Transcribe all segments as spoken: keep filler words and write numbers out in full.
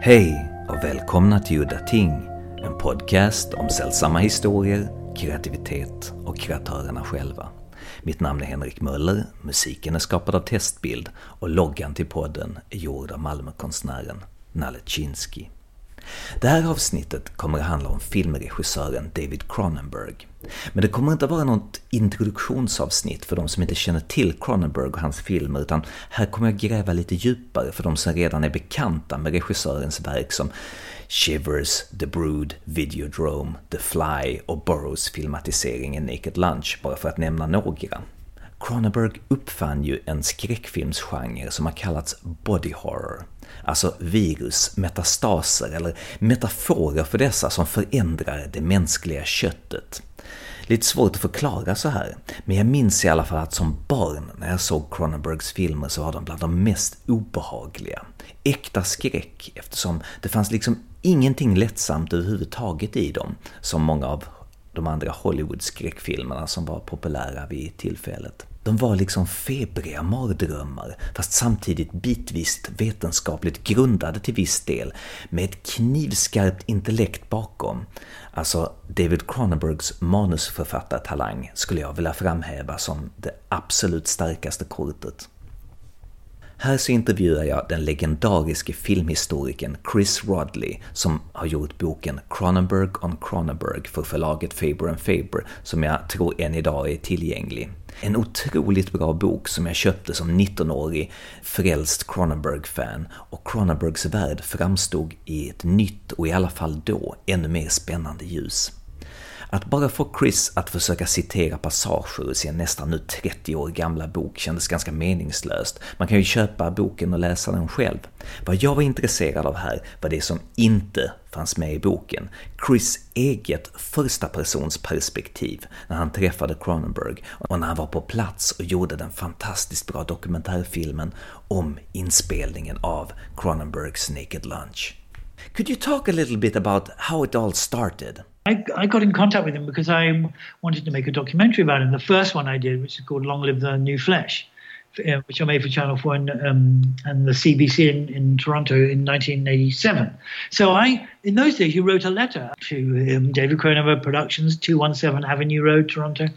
Hej och välkomna till Udda Ting, en podcast om sällsamma historier, kreativitet och kreatörerna själva. Mitt namn är Henrik Möller, musiken är skapad av Testbild och loggan till podden är gjord av Malmökonstnären Nalle Chinsky. Det här avsnittet kommer att handla om filmregissören David Cronenberg. Men det kommer inte att vara något introduktionsavsnitt för de som inte känner till Cronenberg och hans filmer, utan här kommer jag gräva lite djupare för de som redan är bekanta med regissörens verk som Shivers, The Brood, Videodrome, The Fly och Burroughs filmatisering i Naked Lunch, bara för att nämna några. Cronenberg uppfann ju en skräckfilmsgenre som har kallats body horror, alltså virus, metastaser eller metaforer för dessa som förändrar det mänskliga köttet. Lite svårt att förklara så här, men jag minns i alla fall att som barn när jag såg Cronenbergs filmer så var de bland de mest obehagliga. Äkta skräck, eftersom det fanns liksom ingenting lättsamt överhuvudtaget i dem, som många av de andra Hollywood-skräckfilmerna som var populära vid tillfället. De var liksom febriga mardrömmar, fast samtidigt bitvis vetenskapligt grundade till viss del, med ett knivskarpt intellekt bakom. Alltså David Cronenbergs manusförfattartalang skulle jag vilja framhäva som det absolut starkaste kortet. Här så intervjuar jag den legendariske filmhistorikern Chris Rodley som har gjort boken Cronenberg on Cronenberg för förlaget Faber and Faber, som jag tror än idag är tillgänglig. En otroligt bra bok som jag köpte som nittonårig frälst Cronenberg-fan, och Cronenbergs värld framstod i ett nytt och i alla fall då ännu mer spännande ljus. Att bara få Chris att försöka citera passager ur sin nästan nu trettio år gamla bok kändes ganska meningslöst. Man kan ju köpa boken och läsa den själv. Vad jag var intresserad av här var det som inte fanns med i boken. Chris eget första persons perspektiv när han träffade Cronenberg och när han var på plats och gjorde den fantastiskt bra dokumentärfilmen om inspelningen av Cronenbergs Naked Lunch. Could you talk a little bit about how it all started? I, I got in contact with him because I wanted to make a documentary about him. The first one I did, which is called Long Live the New Flesh, uh, which I made for Channel four and, um, and the C B C in, in Toronto in nineteen eighty-seven. So I, in those days, you wrote a letter to um, David Cronenberg Productions, two seventeen Avenue Road, Toronto,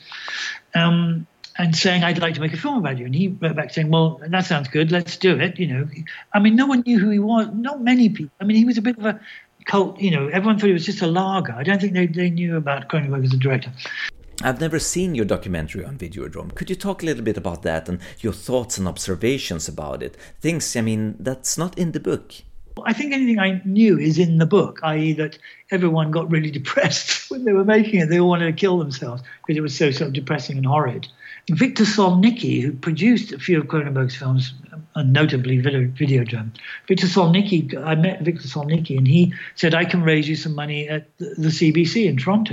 um, and saying, I'd like to make a film about you. And he wrote back saying, well, that sounds good, let's do it, you know. I mean, no one knew who he was, not many people. I mean, he was a bit of a cult, you know, everyone thought he was just a lager. I don't think they, they knew about Cronenberg as a director. I've never seen your documentary on Videodrome. Could you talk a little bit about that and your thoughts and observations about it? Things, I mean, that's not in the book. I think anything I knew is in the book, that is that everyone got really depressed when they were making it. They all wanted to kill themselves because it was so sort of depressing and horrid. Victor Solnicki, who produced a few of Cronenberg's films, and notably Videodrome, Victor Solnicki, I met Victor Solnicki and he said, I can raise you some money at the C B C in Toronto.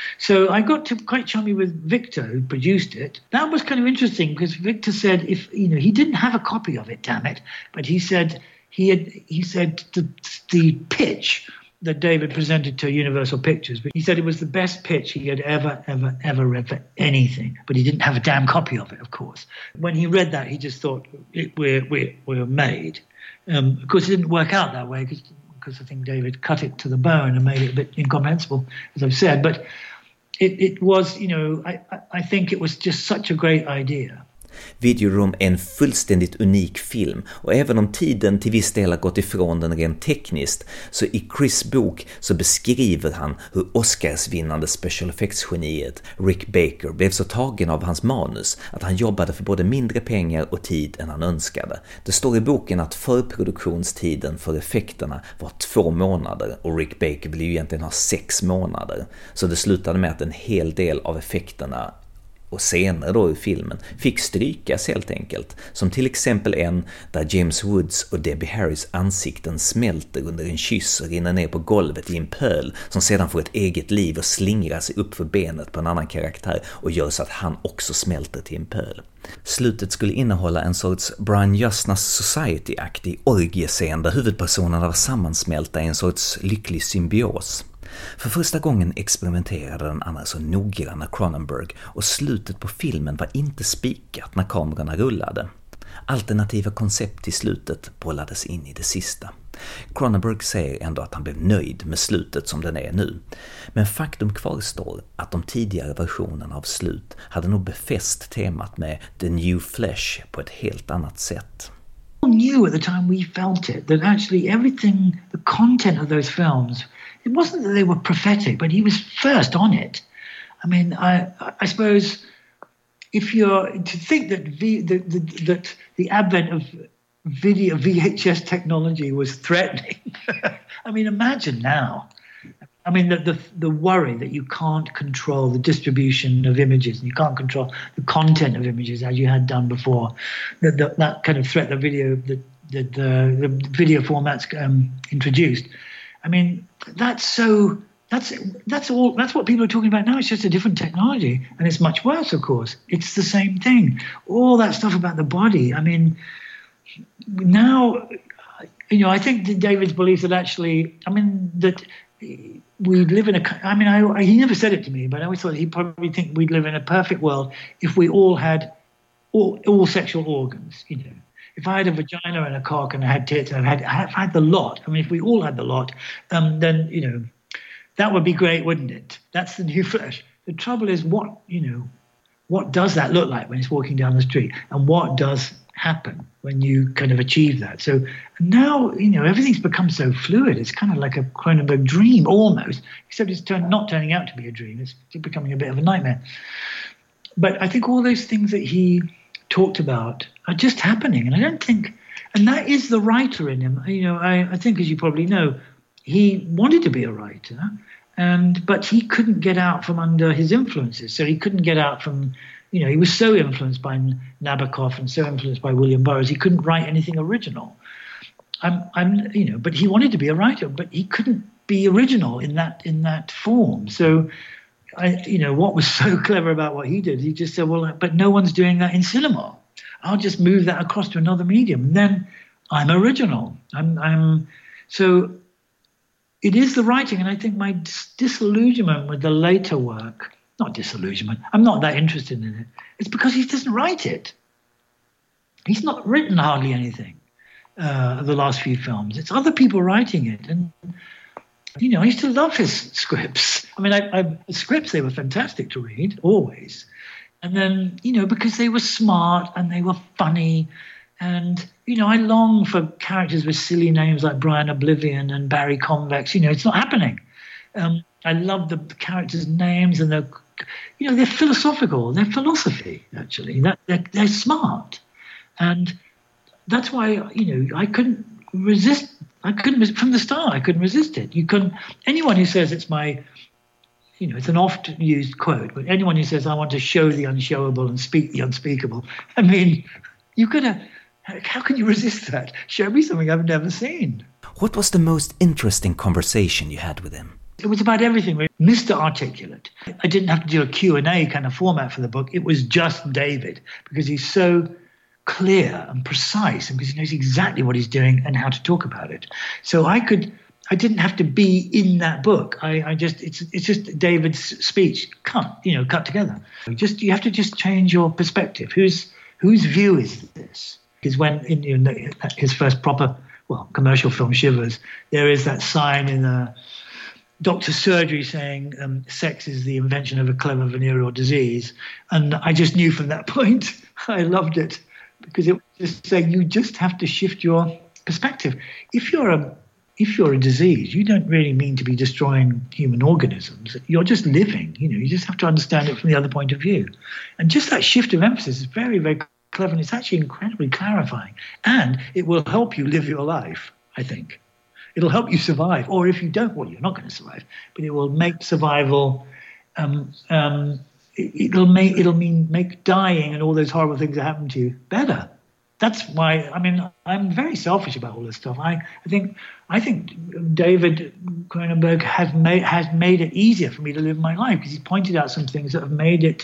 So I got to quite chummy with Victor, who produced it. That was kind of interesting because Victor said, if you know, he didn't have a copy of it, damn it, but he said he had he said the, the pitch that David presented to Universal Pictures, but he said it was the best pitch he had ever, ever, ever read for anything, but he didn't have a damn copy of it, of course. When he read that, he just thought, it, we're, we're, we're made. Um, of course, it didn't work out that way, because because I think David cut it to the bone and made it a bit incomprehensible, as I've said, but it, it was, you know, I, I think it was just such a great idea. Videodrome är en fullständigt unik film, och även om tiden till viss del har gått ifrån den rent tekniskt, så i Chris bok så beskriver han hur Oscarsvinnande special effects-geniet Rick Baker blev så tagen av hans manus att han jobbade för både mindre pengar och tid än han önskade. Det står i boken att förproduktionstiden för effekterna var två månader och Rick Baker ville ju egentligen ha sex månader. Så det slutade med att en hel del av effekterna och senare då i filmen fick strykas helt enkelt, som till exempel en där James Woods och Debbie Harrys ansikten smälter under en kyss och rinner ner på golvet i en pöl som sedan får ett eget liv och slingrar sig upp för benet på en annan karaktär och gör så att han också smälter till en pöl. Slutet skulle innehålla en sorts Brian Justnas Society-aktig orgiescen där huvudpersonerna var sammansmälta i en sorts lycklig symbios. För första gången experimenterade den annars så noggranna Cronenberg, och slutet på filmen var inte spikat när kamerorna rullade. Alternativa koncept i slutet bollades in i det sista. Cronenberg säger ändå att han blev nöjd med slutet som den är nu. Men faktum kvarstår att de tidigare versionerna av slut hade nog befäst temat med The New Flesh på ett helt annat sätt. We knew at the time we felt it, that actually everything, the content of those films, it wasn't that they were prophetic, but he was first on it. I mean, I, I suppose if you're to think that v, the, the, that the advent of video V H S technology was threatening, I mean, imagine now. I mean, the, the the worry that you can't control the distribution of images and you can't control the content of images as you had done before. The, the, that kind of threat that video the the, the, the video formats um, introduced. I mean, that's so. That's that's all. That's what people are talking about now. It's just a different technology, and it's much worse. Of course, it's the same thing. All that stuff about the body. I mean, now, you know, I think that David's belief that actually, I mean, that we live in a. I mean, I, he never said it to me, but I always thought he'd probably think we'd live in a perfect world if we all had all, all sexual organs. You know, if I had a vagina and a cock and I had tits and I had, I had the lot. I mean, if we all had the lot, um, then you know. That would be great, wouldn't it? That's the new flesh. The trouble is what, you know, what does that look like when it's walking down the street? And what does happen when you kind of achieve that? So now, you know, everything's become so fluid. It's kind of like a Cronenberg dream almost, except it's turn, not turning out to be a dream. It's becoming a bit of a nightmare. But I think all those things that he talked about are just happening. And I don't think, and that is the writer in him. You know, I, I think, as you probably know, he wanted to be a writer, and but he couldn't get out from under his influences. So he couldn't get out from, you know, he was so influenced by Nabokov and so influenced by William Burroughs, he couldn't write anything original. I'm, I'm, you know, but he wanted to be a writer, but he couldn't be original in that in that form. So, I, you know, what was so clever about what he did? He just said, well, but no one's doing that in cinema. I'll just move that across to another medium, and then I'm original. I'm, I'm so. It is the writing, and I think my dis- disillusionment with the later work, not disillusionment, I'm not that interested in it. It's because he doesn't write it. He's not written hardly anything, uh, the last few films. It's other people writing it. And, you know, I used to love his scripts. I mean, I, I, the scripts, they were fantastic to read, always. And then, you know, because they were smart and they were funny. And, you know, I long for characters with silly names like Brian Oblivion and Barry Convex. You know, it's not happening. Um, I love the characters' names, and they're, you know, they're philosophical. They're philosophy, actually. That, they're, they're smart. And that's why, you know, I couldn't resist. I couldn't, from the start, I couldn't resist it. You couldn't, anyone who says it's my, you know, it's an oft-used quote, but anyone who says I want to show the unshowable and speak the unspeakable, I mean, you could have, how can you resist that? Show me something I've never seen. What was the most interesting conversation you had with him? It was about everything. Mister Articulate. I didn't have to do a Q and A kind of format for the book. It was just David, because he's so clear and precise, and because he knows exactly what he's doing and how to talk about it. So I could, I didn't have to be in that book. I, I just, it's it's just David's speech cut, you know, cut together. Just you have to just change your perspective. Whose whose view is this? Because when in, in his first proper, well, commercial film, Shivers, there is that sign in a doctor's surgery saying um, sex is the invention of a clever venereal disease. And I just knew from that point, I loved it, because it was just saying you just have to shift your perspective. If you're a if you're a disease, you don't really mean to be destroying human organisms. You're just living. You know, you just have to understand it from the other point of view. And just that shift of emphasis is very, very clever, and it's actually incredibly clarifying. And it will help you live your life, I think. It'll help you survive. Or if you don't, well, you're not going to survive. But it will make survival, um, um, it, it'll make it'll mean make dying and all those horrible things that happen to you better. That's why, I mean, I'm very selfish about all this stuff. I, I think I think David Cronenberg has made, has made it easier for me to live my life, because he's pointed out some things that have made it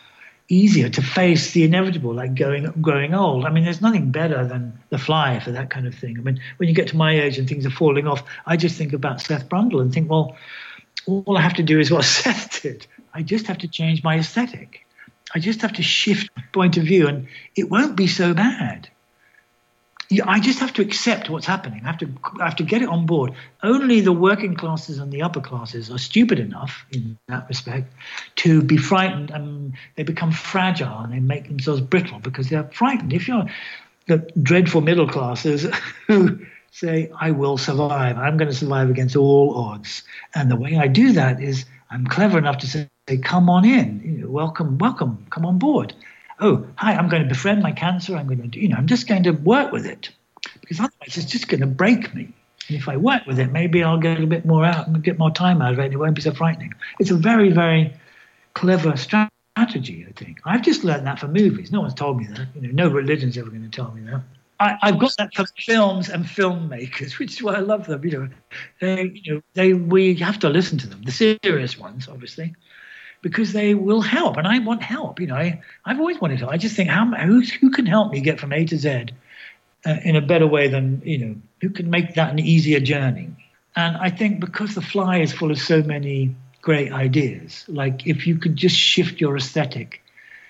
easier to face the inevitable, like going, growing old. I mean, there's nothing better than The Fly for that kind of thing. I mean, when you get to my age and things are falling off, I just think about Seth Brundle and think, well, all I have to do is what Seth did. I just have to change my aesthetic. I just have to shift my point of view, and it won't be so bad. I just have to accept what's happening. I have to, I have to get it on board. Only the working classes and the upper classes are stupid enough in that respect to be frightened, and they become fragile and they make themselves brittle because they're frightened. If you're the dreadful middle classes who say, I will survive, I'm going to survive against all odds. And the way I do that is I'm clever enough to say, come on in, you know, welcome, welcome, come on board. Oh, hi, I'm going to befriend my cancer. I'm going to, you know, I'm just going to work with it because otherwise it's just going to break me. And if I work with it, maybe I'll get a bit more out and get more time out of it and it won't be so frightening. It's a very, very clever strategy, I think. I've just learned that from movies. No one's told me that. You know, no religion's ever going to tell me that. I, I've got that from films and filmmakers, which is why I love them. You know, they, you know, they, we have to listen to them, the serious ones, obviously, because they will help, and I want help. You know, I, I've always wanted help. I just think, how who, who can help me get from A to Z uh, in a better way than, you know, who can make that an easier journey? And I think because The Fly is full of so many great ideas, like if you could just shift your aesthetic,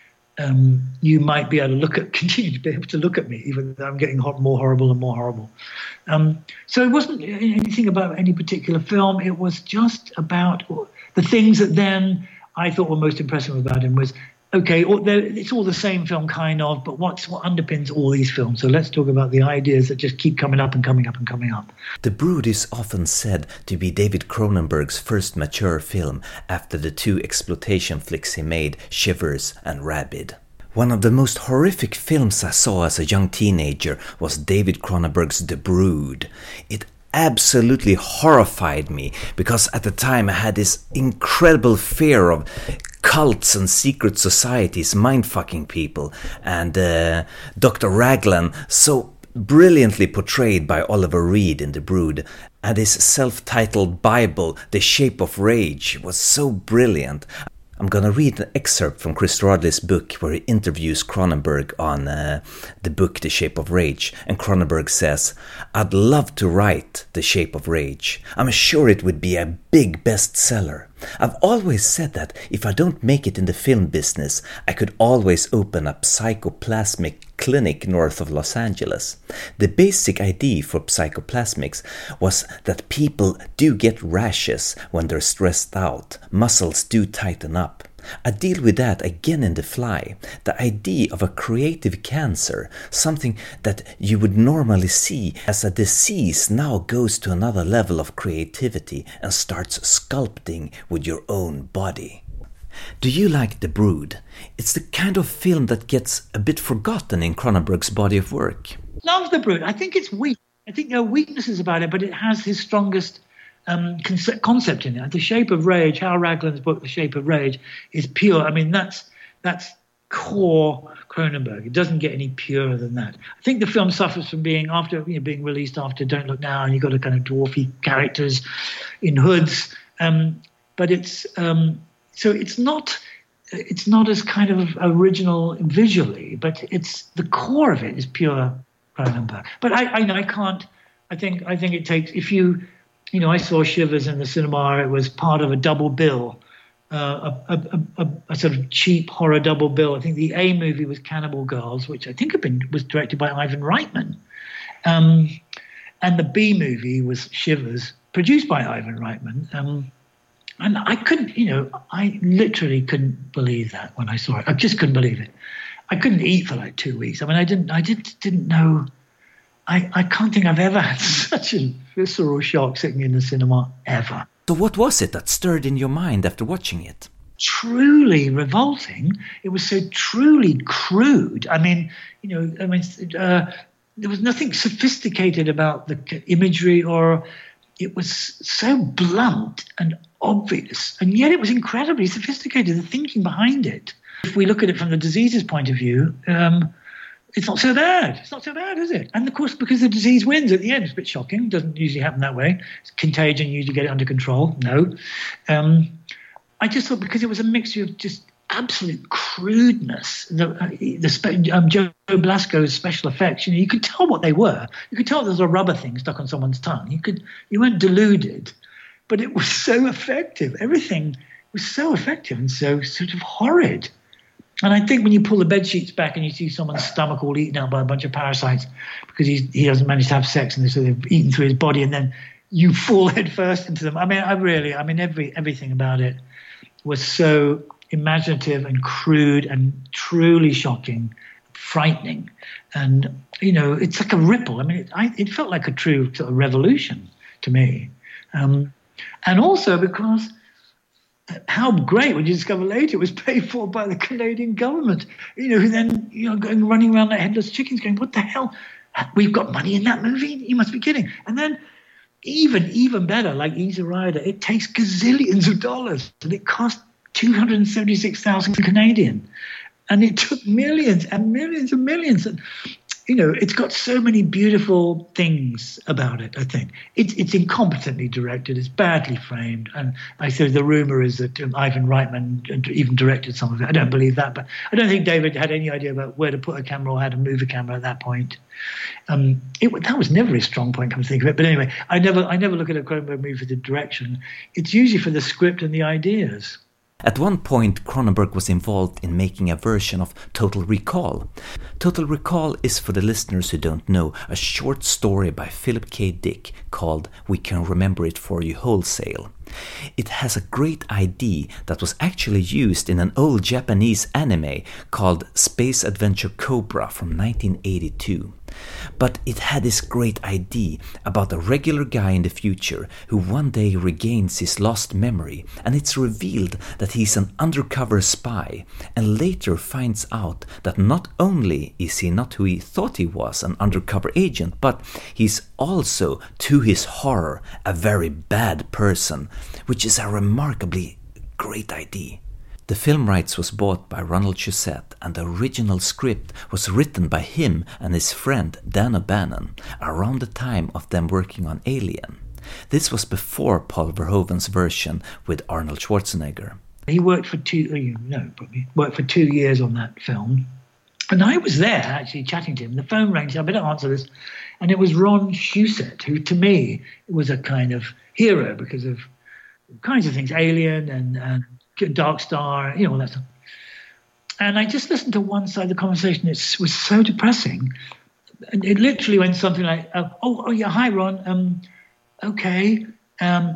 um, you might be able to look at, continue to be able to look at me, even though I'm getting more horrible and more horrible. Um, so it wasn't anything about any particular film. It was just about the things that then I thought were most impressive about him was, okay, it's all the same film kind of, but what's what underpins all these films? So let's talk about the ideas that just keep coming up and coming up and coming up. The Brood is often said to be David Cronenberg's first mature film after the two exploitation flicks he made, Shivers and Rabid. One of the most horrific films I saw as a young teenager was David Cronenberg's The Brood. It absolutely horrified me because at the time I had this incredible fear of cults and secret societies mind-fucking people, and uh, Doctor Raglan, so brilliantly portrayed by Oliver Reed in The Brood, and his self-titled Bible, The Shape of Rage, was so brilliant. I'm gonna read an excerpt from Chris Rodley's book where he interviews Cronenberg on uh, the book The Shape of Rage, and Cronenberg says, I'd love to write The Shape of Rage. I'm sure it would be a big bestseller. I've always said that if I don't make it in the film business, I could always open a psychoplasmic clinic north of Los Angeles. The basic idea for psychoplasmics was that people do get rashes when they're stressed out, muscles do tighten up. I deal with that again in The Fly. The idea of a creative cancer, something that you would normally see as a disease, now goes to another level of creativity and starts sculpting with your own body. Do you like The Brood? It's the kind of film that gets a bit forgotten in Cronenberg's body of work. Love The Brood. I think it's weak. I think there are weaknesses about it, but it has his strongest Um, concept in it. The Shape of Rage, Hal Raglan's book, The Shape of Rage, is pure. I mean, that's that's core Cronenberg. It doesn't get any purer than that. I think the film suffers from being after you know, being released after Don't Look Now, and you've got a kind of dwarfy characters in hoods. Um, but it's um, so it's not it's not as kind of original visually, but it's the core of it is pure Cronenberg. But I I, I can't. I think I think it takes if you. You know, I saw Shivers in the cinema. It was part of a double bill, uh, a, a, a, a sort of cheap horror double bill. I think the A movie was Cannibal Girls, which I think had been was directed by Ivan Reitman, um, and the B movie was Shivers, produced by Ivan Reitman. Um, and I couldn't, you know, I literally couldn't believe that when I saw it. I just couldn't believe it. I couldn't eat for like two weeks. I mean, I didn't, I did, didn't know. I, I can't think I've ever had such a visceral shock sitting in the cinema, ever. So what was it that stirred in your mind after watching it? Truly revolting. It was so truly crude. I mean, you know, I mean, uh, there was nothing sophisticated about the imagery, or it was so blunt and obvious, and yet it was incredibly sophisticated, the thinking behind it. If we look at it from the disease's point of view, um, it's not so bad. It's not so bad, is it? And of course, because the disease wins at the end, it's a bit shocking. It doesn't usually happen that way. It's contagion, you usually get it under control. No. Um, I just thought because it was a mixture of just absolute crudeness, the, uh, the spe- um, Joe Blasco's special effects, you know, you could tell what they were. You could tell there was a rubber thing stuck on someone's tongue. You could, you weren't deluded, but it was so effective. Everything was so effective and so sort of horrid. And I think when you pull the bed sheets back and you see someone's stomach all eaten out by a bunch of parasites because he's, he doesn't manage to have sex and so they've eaten through his body, and then you fall head first into them. I mean, I really, I mean, every everything about it was so imaginative and crude and truly shocking, frightening. And, you know, it's like a ripple. I mean, it, I, it felt like a true sort of revolution to me. Um, and also because how great when you discover later it was paid for by the Canadian government, you know, who then, you know, going running around like headless chickens going, what the hell? We've got money in that movie? You must be kidding. And then even, even better, like Easy Rider, it takes gazillions of dollars and it cost two hundred seventy-six thousand Canadian. And it took millions and millions and millions. And, you know, it's got so many beautiful things about it, I think. It's, it's incompetently directed. It's badly framed. And I said the rumor is that um, Ivan Reitman even directed some of it. I don't believe that. But I don't think David had any idea about where to put a camera or how to move a camera at that point. Um, it, that was never his strong point, come to think of it. But anyway, I never, I never look at a Cronenberg movie for the direction. It's usually for the script and the ideas. At one point, Cronenberg was involved in making a version of Total Recall. Total Recall is, for the listeners who don't know, a short story by Philip K. Dick called We Can Remember It For You Wholesale. It has a great idea that was actually used in an old Japanese anime called Space Adventure Cobra from nineteen eighty-two. But it had this great idea about a regular guy in the future who one day regains his lost memory, and it's revealed that he's an undercover spy, and later finds out that not only is he not who he thought he was, an undercover agent, but he's also, to his horror, a very bad person, which is a remarkably great idea. The film rights was bought by Ronald Shusett, and the original script was written by him and his friend Dan O'Bannon around the time of them working on Alien. This was before Paul Verhoeven's version with Arnold Schwarzenegger. He worked for two, you know, probably worked for two years on that film, and I was there actually chatting to him. The phone rang, so I better answer this, and it was Ron Shusett, who to me was a kind of hero because of all kinds of things, Alien and, and Dark Star, you know, all that stuff. And I just listened to one side of the conversation. It was so depressing. And it literally went something like, uh, oh, oh, yeah, hi, Ron. Um, okay. Um,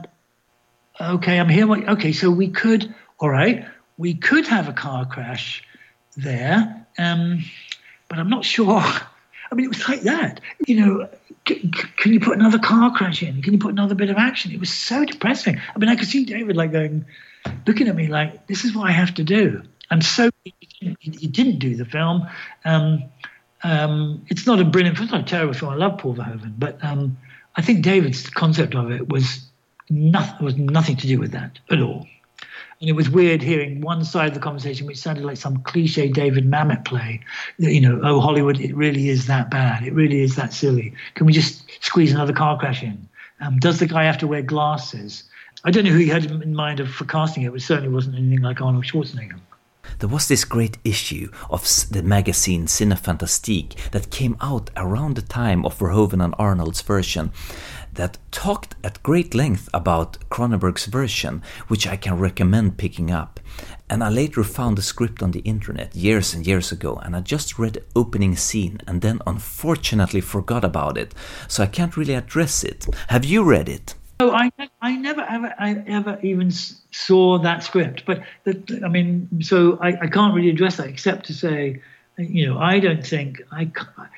okay, I'm here. Okay, so we could, all right, we could have a car crash there, um, but I'm not sure. I mean, it was like that. You know, c- c- can you put another car crash in? Can you put another bit of action? It was so depressing. I mean, I could see David like going, looking at me like, this is what I have to do. And so he, he didn't do the film. Um, um, it's not a brilliant film, it's not a terrible film. I love Paul Verhoeven. But um, I think David's concept of it was, nothing, was nothing to do with that at all. And it was weird hearing one side of the conversation, which sounded like some cliche David Mamet play. You know, oh, Hollywood, it really is that bad. It really is that silly. Can we just squeeze another car crash in? Um, does the guy have to wear glasses? I don't know who he had in mind of for casting it, but it certainly wasn't anything like Arnold Schwarzenegger. There was this great issue of the magazine Cinefantastique that came out around the time of Verhoeven and Arnold's version that talked at great length about Cronenberg's version, which I can recommend picking up. And I later found the script on the internet years and years ago, and I just read the opening scene and then unfortunately forgot about it, so I can't really address it. Have you read it? Oh, I, I never ever, I ever even saw that script. But, the, I mean, so I, I can't really address that except to say, you know, I don't think, I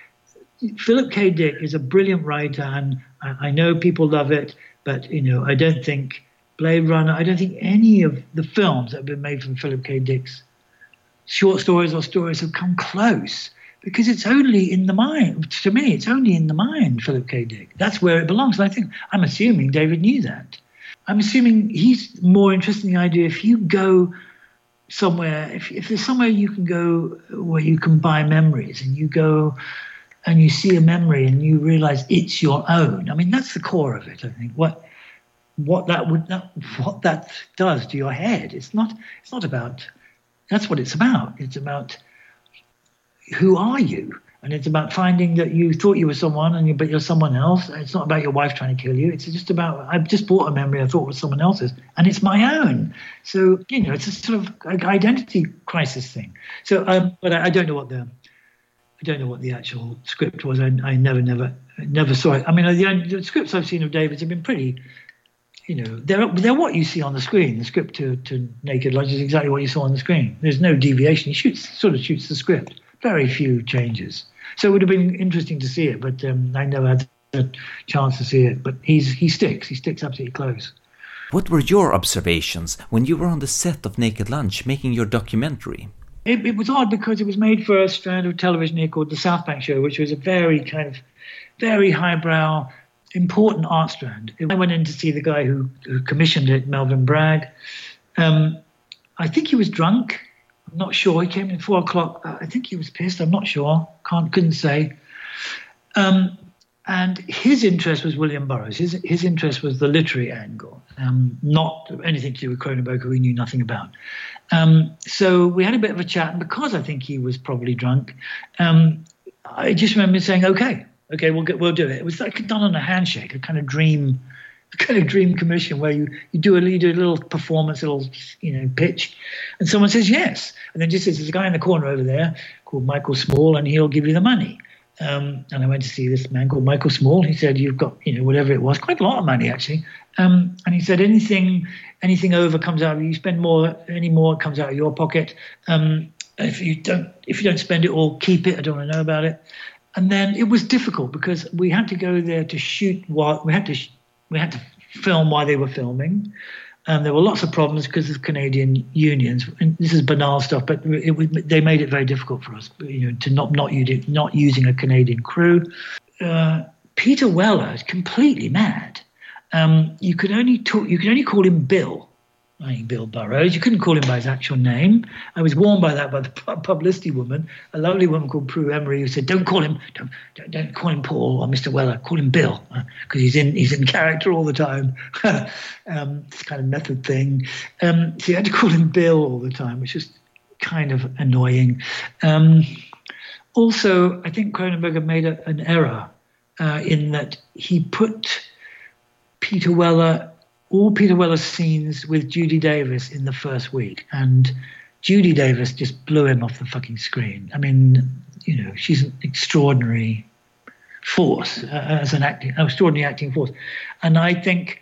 Philip K. Dick is a brilliant writer, and I, I know people love it, but, you know, I don't think Blade Runner, I don't think any of the films that have been made from Philip K. Dick's short stories or stories have come close. Because it's only in the mind, to me, it's only in the mind, Philip K. Dick. That's where it belongs. And I think, I'm assuming David knew that. I'm assuming he's more interested in the idea if you go somewhere, if, if there's somewhere you can go where you can buy memories and you go and you see a memory and you realize it's your own. I mean, that's the core of it, I think. What what that would that, what that does to your head. It's not it's not about, that's what it's about. It's about, who are you? And it's about finding that you thought you were someone, and you, but you're someone else. It's not about your wife trying to kill you. It's just about, I've just bought a memory I thought was someone else's, and it's my own. So, you know, it's a sort of identity crisis thing. So, um, but I, I don't know what the, I don't know what the actual script was. I, I never, never, never saw it. I mean, the, the scripts I've seen of David's have been pretty, you know, they're they're what you see on the screen. The script to, to Naked Lunch is exactly what you saw on the screen. There's no deviation. He shoots, sort of shoots the script. Very few changes. So it would have been interesting to see it, but um, I never had a chance to see it. But he's he sticks. He sticks absolutely close. What were your observations when you were on the set of Naked Lunch making your documentary? It, it was odd because it was made for a strand of television here called the South Bank Show, which was a very kind of, very highbrow, important art strand. I went in to see the guy who, who commissioned it, Melvin Bragg. Um, I think he was drunk. I'm not sure. He came in at four o'clock. I think he was pissed. I'm not sure. Can't couldn't say. Um, and his interest was William Burroughs. His his interest was the literary angle, um, not anything to do with Cronenberg, who we knew nothing about. Um, so we had a bit of a chat, and because I think he was probably drunk, um, I just remember saying, "Okay, okay, we'll get, we'll do it." It was like done on a handshake, a kind of dream. A kind of dream commission where you, you do a you do a little performance, a little you know pitch, and someone says yes, and then just says there's a guy in the corner over there called Michael Small, and he'll give you the money. Um, and I went to see this man called Michael Small. He said you've got you know whatever it was, quite a lot of money actually. Um, and he said anything anything over comes out of you. You spend more, any more it comes out of your pocket. Um, if you don't if you don't spend it all, keep it. I don't want to know about it. And then it was difficult because we had to go there to shoot while we had to. Sh- We had to film while they were filming. Um, there were lots of problems because of Canadian unions. And this is banal stuff, but it, it, they made it very difficult for us, you know, to not not, use it, not using a Canadian crew. Uh, Peter Weller is completely mad. Um, you could only talk, you could only call him Bill. I mean, Bill Burroughs. You couldn't call him by his actual name. I was warned by that by the publicity woman, a lovely woman called Prue Emery, who said, "Don't call him, don't, don't, don't call him Paul or Mister Weller. Call him Bill, because uh, he's in he's in character all the time." um, this kind of method thing. Um, so you had to call him Bill all the time, which is kind of annoying. Um, also, I think Cronenberg had made a, an error uh, in that he put Peter Weller. all Peter Weller's scenes with Judy Davis in the first week, and Judy Davis just blew him off the fucking screen. I mean, you know, she's an extraordinary force uh, as an acting, an extraordinary acting force, and I think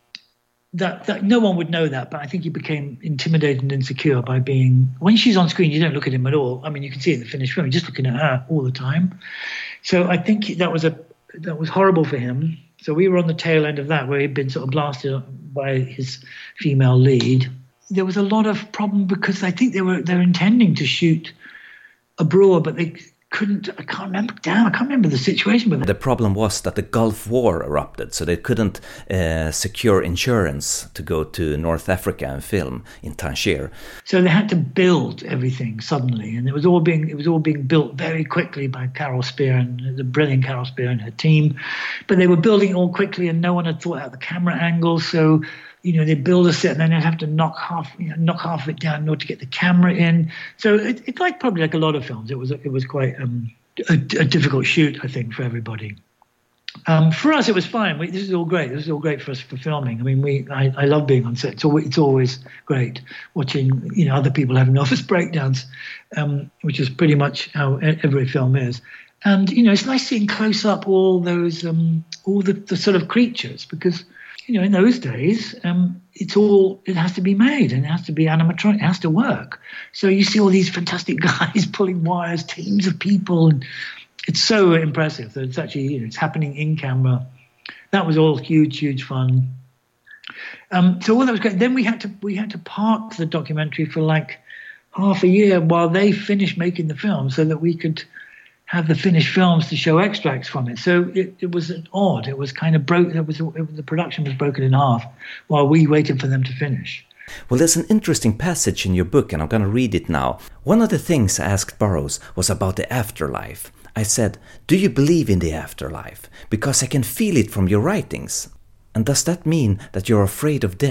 that that no one would know that, but I think he became intimidated and insecure by being. When she's on screen, you don't look at him at all. I mean, you can see it in the finished film. You're just looking at her all the time. So I think that was a that was horrible for him. So we were on the tail end of that, where he'd been sort of blasted by his female lead. There was a lot of problem because I think they were they were intending to shoot abroad, but they couldn't. I can't remember. Damn, I can't remember the situation with it. The problem was that the Gulf War erupted, so they couldn't uh, secure insurance to go to North Africa and film in Tangier. So they had to build everything suddenly, and it was all being it was all being built very quickly by Carol Spear and the brilliant Carol Spear and her team. But they were building it all quickly, and no one had thought out the camera angles. So you know, they'd build a set and then they'd have to knock half, you know, knock half of it down in order to get the camera in. So it, it's like probably like a lot of films. It was it was quite um, a, a difficult shoot, I think, for everybody. Um, for us, it was fine. We, this is all great. This is all great for us for filming. I mean, we I, I love being on set. It's always, it's always great watching, you know, other people having office breakdowns, um, which is pretty much how every film is. And you know, it's nice seeing close up all those um, all the, the sort of creatures because. You know, in those days, um, it's all, it has to be made and it has to be animatronic, it has to work. So you see all these fantastic guys pulling wires, teams of people, and it's so impressive that it's actually, you know, it's happening in camera. That was all huge, huge fun. Um, so all that was great. Then we had to, we had to park the documentary for like half a year while they finished making the film so that we could have the finished films to show extracts from it. So it, it was odd. It was kind of broke. It was, it was the production was broken in half while we waited for them to finish. Well, there's an interesting passage in your book, and I'm going to read it now. One of the things I asked Burroughs was about the afterlife. I said, "Do you believe in the afterlife? Because I can feel it from your writings. And does that mean that you're afraid of death?"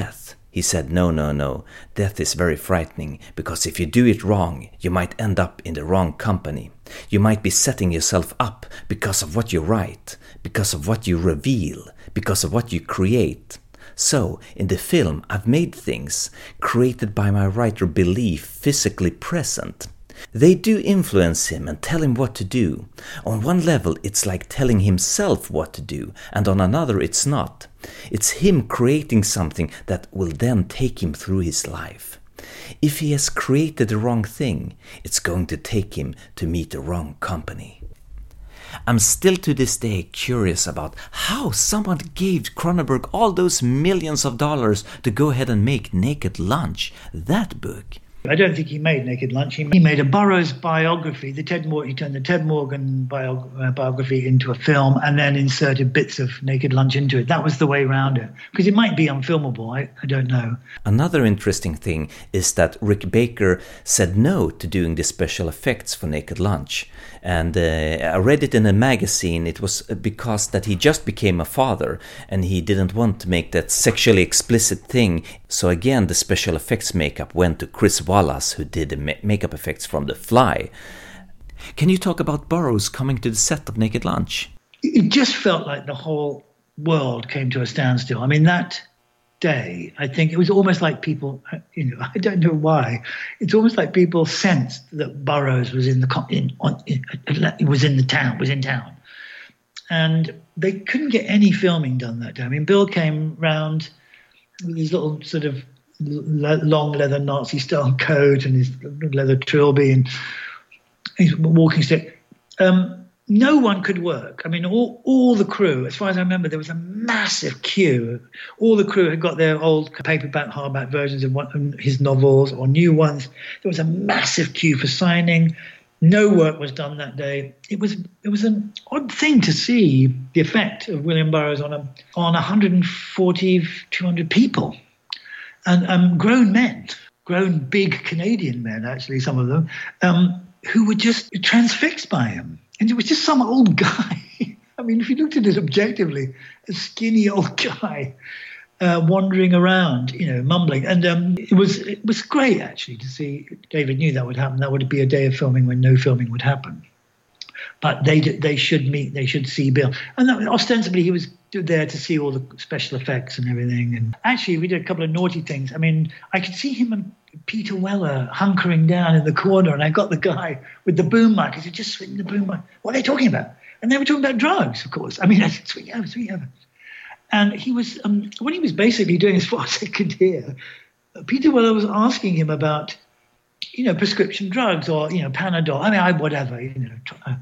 He said, no, no, no, death is very frightening, because if you do it wrong, you might end up in the wrong company. You might be setting yourself up because of what you write, because of what you reveal, because of what you create. So, in the film, I've made things created by my writer belief physically present. They do influence him and tell him what to do. On one level, it's like telling himself what to do, and on another, it's not. It's him creating something that will then take him through his life. If he has created the wrong thing, it's going to take him to meet the wrong company. I'm still to this day curious about how someone gave Cronenberg all those millions of dollars to go ahead and make Naked Lunch, that book. I don't think he made Naked Lunch. He made a Burroughs biography. The Ted Mor- he turned the Ted Morgan bio- uh, biography into a film and then inserted bits of Naked Lunch into it. That was the way around it. Because it might be unfilmable. I, I don't know. Another interesting thing is that Rick Baker said no to doing the special effects for Naked Lunch. And uh, I read it in a magazine. It was because that he just became a father and he didn't want to make that sexually explicit thing. So again, the special effects makeup went to Chris Wallace, who did the ma- makeup effects from The Fly. Can you talk about Burroughs coming to the set of Naked Lunch? It just felt like the whole world came to a standstill. I mean, that day, I think it was almost like people, you know, I don't know why, it's almost like people sensed that Burroughs was in the in, on, in, was in the town, was in town, and they couldn't get any filming done that day. I mean, Bill came round with his little sort of long leather Nazi-style coat and his leather trilby and his walking stick. Um, no one could work. I mean, all, all the crew, as far as I remember, there was a massive queue. All the crew had got their old paperback, hardback versions of one, his novels or new ones. There was a massive queue for signing. No work was done that day. It was it was an odd thing to see the effect of William Burroughs on a, on one hundred forty, two hundred people. And um, grown men, grown big Canadian men, actually, some of them, um, who were just transfixed by him. And it was just some old guy. I mean, if you looked at it objectively, a skinny old guy uh, wandering around, you know, mumbling. And um, it was it was great, actually, to see. David knew that would happen. That would be a day of filming when no filming would happen. But they they should meet, they should see Bill. And that, ostensibly, he was there to see all the special effects and everything. And actually, we did a couple of naughty things. I mean, I could see him and Peter Weller hunkering down in the corner, and I got the guy with the boom mic. I said, just swing the boom mic. What are they talking about? And they were talking about drugs, of course. I mean, I said, swing over, swing over. And he was, um, what he was basically doing, as far as I could hear, Peter Weller was asking him about, you know, prescription drugs or, you know, Panadol. I mean, I, whatever, you know.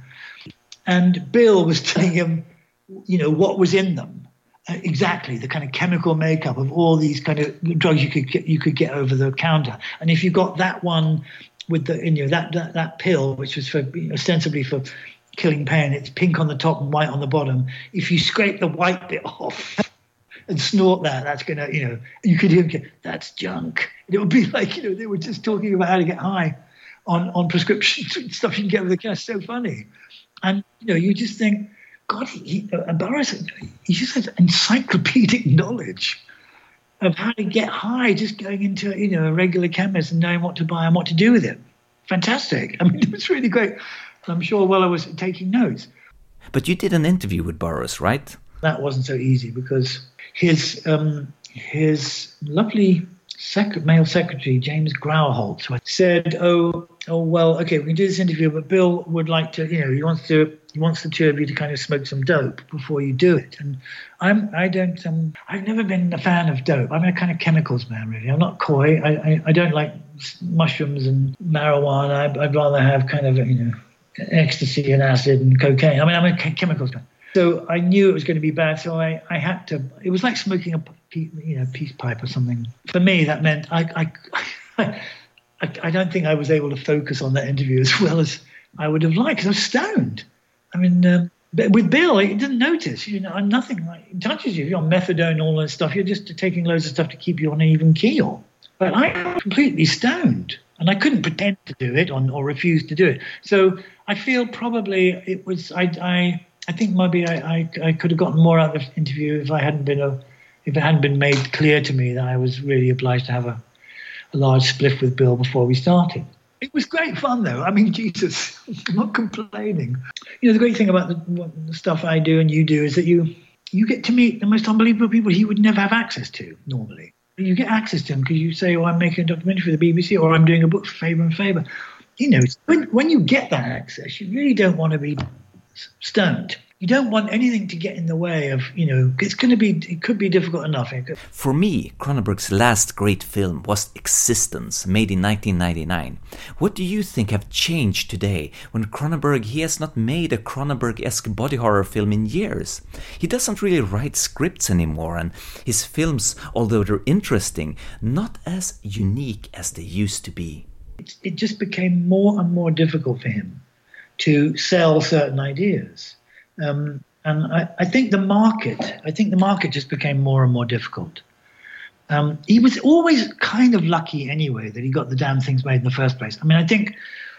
And Bill was telling him, you know, what was in them. Uh, exactly, the kind of chemical makeup of all these kind of drugs you could get, you could get over the counter. And if you got that one with the, you know, that that, that pill, which was for, you know, ostensibly for killing pain, it's pink on the top and white on the bottom. If you scrape the white bit off and snort that, that's going to, you know, you could hear, that's junk. And it would be like, you know, they were just talking about how to get high on, on prescription stuff you can get with the cash. So funny. And, you know, you just think, God, he, uh, Burroughs, he just has encyclopedic knowledge of how to get high, just going into, you know, a regular chemist and knowing what to buy and what to do with it. Fantastic. I mean, it was really great. I'm sure Weller was taking notes. But you did an interview with Burroughs, right? That wasn't so easy because his um, his lovely sec- male secretary, James Grauholt, said, oh, oh, well, okay, we can do this interview, but Bill would like to, you know, he wants to, he wants the two of you to kind of smoke some dope before you do it. And I'm, I don't, um, I've never been a fan of dope. I'm a kind of chemicals man, really. I'm not coy. I, I, I don't like mushrooms and marijuana. I'd, I'd rather have kind of, you know, ecstasy and acid and cocaine. I mean, I'm a chemicals man. So I knew it was going to be bad. So I, I had to, it was like smoking a, you know, peace pipe or something. For me, that meant I, I, I, I don't think I was able to focus on that interview as well as I would have liked because I was stoned. I mean, um, but with Bill, he didn't notice. You know, nothing like it touches you. You're on methadone and all that stuff. You're just taking loads of stuff to keep you on an even keel. But I was completely stoned, and I couldn't pretend to do it or, or refuse to do it. So I feel probably it was. I I, I think maybe I, I I could have gotten more out of the interview if I hadn't been a if it hadn't been made clear to me that I was really obliged to have a, a large spliff with Bill before we started. It was great fun, though. I mean, Jesus, I'm not complaining. You know, the great thing about the, what, the stuff I do and you do is that you you get to meet the most unbelievable people you would never have access to normally. You get access to them because you say, oh, I'm making a documentary for the B B C, or I'm doing a book for Faber and Faber. You know, when, when you get that access, you really don't want to be stoned. You don't want anything to get in the way of, you know, it's going to be, it could be difficult enough. For me, Cronenberg's last great film was Existence, made in nineteen ninety-nine. What do you think have changed today when Cronenberg, he has not made a Cronenberg-esque body horror film in years? He doesn't really write scripts anymore, and his films, although they're interesting, not as unique as they used to be. It, it just became more and more difficult for him to sell certain ideas. Um, and I, I think the market, I think the market just became more and more difficult. Um, he was always kind of lucky anyway that he got the damn things made in the first place. I mean, I think,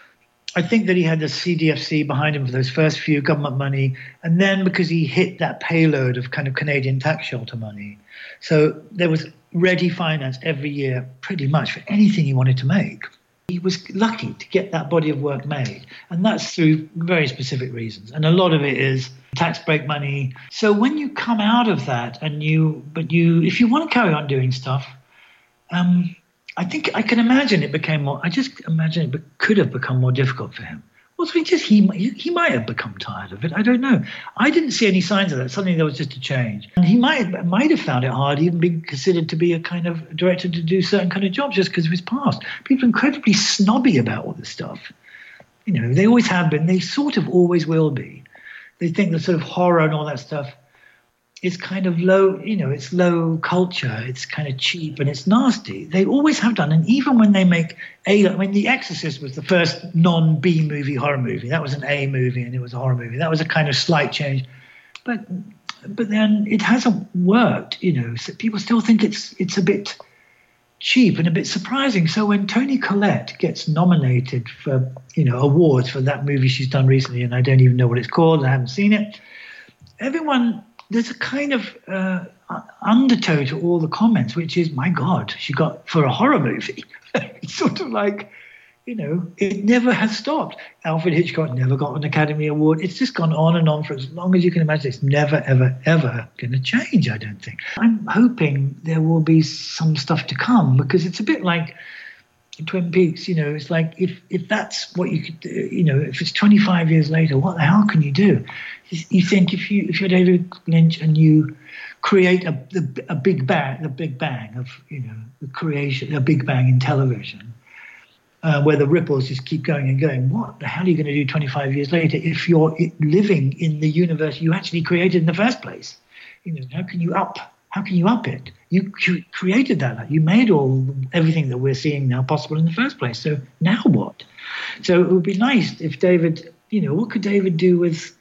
I think that he had the C D F C behind him for those first few government money, and then because he hit that payload of kind of Canadian tax shelter money, so there was ready finance every year, pretty much for anything he wanted to make. He was lucky to get that body of work made, and that's through very specific reasons. And a lot of it is tax break money. So when you come out of that and you, but you, if you want to carry on doing stuff, um, I think I can imagine it became more, I just imagine it could have become more difficult for him. Also, he just, he, he might have become tired of it. I don't know. I didn't see any signs of that. Suddenly there was just a change. And he might, might have found it hard, even being considered to be a kind of director to do certain kind of jobs just because of his past. People are incredibly snobby about all this stuff. You know, they always have been. They sort of always will be. They think the sort of horror and all that stuff is kind of low, you know, it's low culture, it's kind of cheap and it's nasty. They always have done. And even when they make A, I mean, The Exorcist was the first non-B movie horror movie. That was an A movie and it was a horror movie. That was a kind of slight change. But but then it hasn't worked, you know. So people still think it's it's a bit cheap and a bit surprising. So when Toni Collette gets nominated for, you know, awards for that movie she's done recently, and I don't even know what it's called, I haven't seen it, everyone... There's a kind of uh, undertow to all the comments, which is, my God, she got for a horror movie. It's sort of like, you know, it never has stopped. Alfred Hitchcock never got an Academy Award. It's just gone on and on for as long as you can imagine. It's never, ever, ever going to change, I don't think. I'm hoping there will be some stuff to come, because it's a bit like Twin Peaks, you know, it's like if, if that's what you could do, you know, if it's twenty-five years later, what the hell can you do? You, you think if, you, if you're David Lynch and you create a, a, a big bang, the big bang of, you know, the creation, a big bang in television, uh, where the ripples just keep going and going, what the hell are you going to do twenty-five years later if you're living in the universe you actually created in the first place? You know, how can you up How can you up it? You created that. You made all everything that we're seeing now possible in the first place. So now what? So it would be nice if David, you know, what could David do with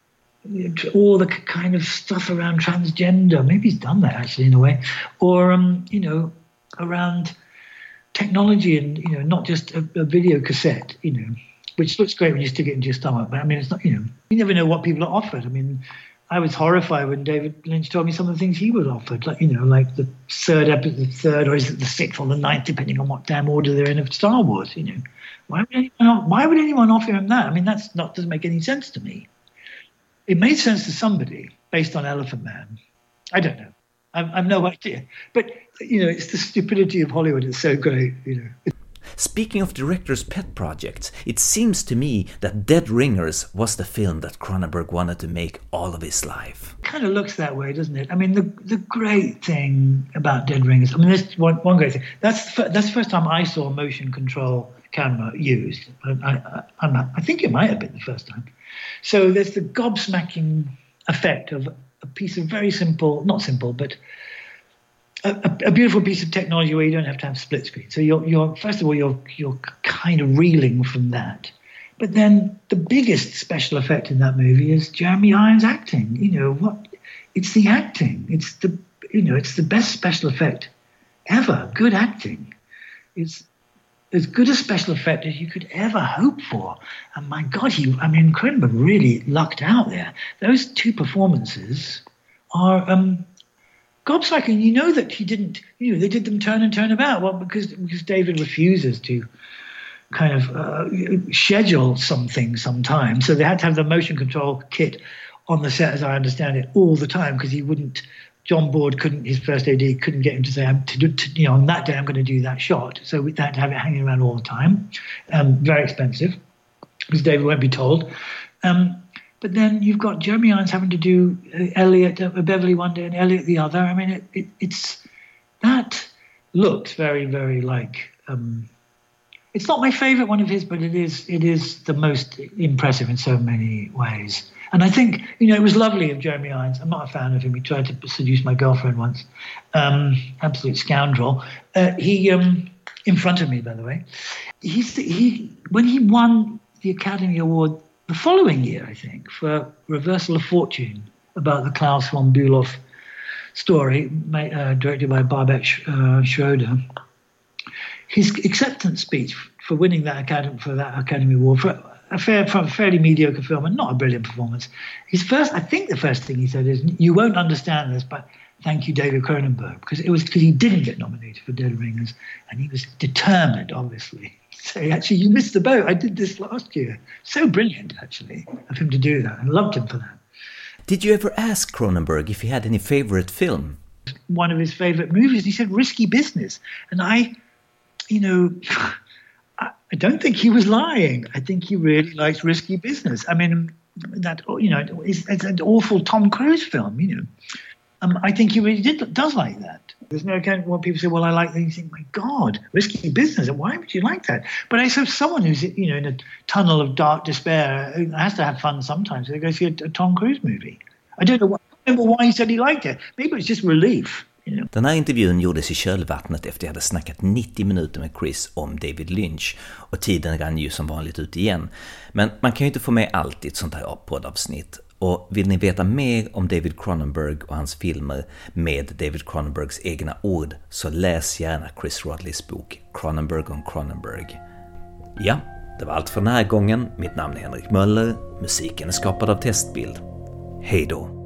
all the kind of stuff around transgender? Maybe he's done that actually in a way. Or, um, you know, around technology and, you know, not just a, a video cassette, you know, which looks great when you stick it into your stomach. But I mean, it's not, you know, you never know what people are offered. I mean, I was horrified when David Lynch told me some of the things he was offered, like, you know, like the third episode, the third, or is it the sixth or the ninth, depending on what damn order they're in of Star Wars, you know. Why would anyone, why would anyone offer him that? I mean, that's not, doesn't make any sense to me. It made sense to somebody based on Elephant Man. I don't know. I've, I've no idea. But, you know, it's the stupidity of Hollywood. It's so great, you know. Speaking of director's pet projects, it seems to me that Dead Ringers was the film that Cronenberg wanted to make all of his life. It kind of looks that way, doesn't it? I mean, the the great thing about Dead Ringers, I mean, there's one, one great thing. That's the, that's the first time I saw a motion control camera used. I, I, I'm not, I think it might have been the first time. So there's the gobsmacking effect of a piece of very simple, not simple, but A, a beautiful piece of technology where you don't have to have split screen. So you're, you're first of all, you're you're kind of reeling from that. But then the biggest special effect in that movie is Jeremy Irons' acting. You know what? It's the acting. It's the you know it's the best special effect ever. Good acting. It's as good a special effect as you could ever hope for. And my God, he I mean, Cronenberg really lucked out there. Those two performances are. Um, gobsmacking. You know that he didn't, you know, they did them turn and turn about. Well, because, because David refuses to kind of uh, schedule something sometimes. So they had to have the motion control kit on the set, as I understand it, all the time, because he wouldn't, John Board couldn't, his first A D couldn't get him to say, I'm to do, to, you know, on that day I'm going to do that shot. So we had to have it hanging around all the time. Um, very expensive, because David won't be told. Um, but then you've got Jeremy Irons having to do uh, Elliot, uh, Beverly one day and Elliot the other. I mean, it, it, it's, that looks very, very like, um, it's not my favorite one of his, but it is, it is the most impressive in so many ways. And I think, you know, it was lovely of Jeremy Irons. I'm not a fan of him. He tried to seduce my girlfriend once. Um, absolute scoundrel. Uh, he, um, in front of me, by the way, he's, he, when he won the Academy Award the following year, I think, for Reversal of Fortune, about the Klaus von Bülow story, uh, directed by Babette uh, Schroeder, his acceptance speech for winning that Academy, for that Academy Award, for a fair, for a fairly mediocre film and not a brilliant performance. His first, I think the first thing he said is, "You won't understand this, but thank you, David Cronenberg," because it was because he didn't get nominated for Dead Ringers, and he was determined, obviously. So actually, you missed the boat. I did this last year. So brilliant, actually, of him to do that. I loved him for that. Did you ever ask Cronenberg if he had any favorite film? One of his favorite movies, he said Risky Business. And I, you know, I don't think he was lying. I think he really likes Risky Business. I mean, that, you know, it's, it's an awful Tom Cruise film, you know. Um, I think he really did, does like that. There's no account when people say, well, I like that. You think, my God, Risky Business. Why would you like that? But I saw someone who's, you know, in a tunnel of dark despair who has to have fun sometimes. So they go see a, a Tom Cruise movie. I don't know, why, I don't know why he said he liked it. Maybe it's just relief. Den här intervjun gjordes i kölvattnet efter jag hade snackat nittio minuter med Chris om David Lynch och tiden rann ju som vanligt ut igen. Men man kan ju inte få med allt i ett sånt här poddavsnitt. Och vill ni veta mer om David Cronenberg och hans filmer med David Cronenbergs egna ord så läs gärna Chris Rodleys bok Cronenberg on Cronenberg. Ja, det var allt för den här gången. Mitt namn är Henrik Möller. Musiken är skapad av Testbild. Hej då!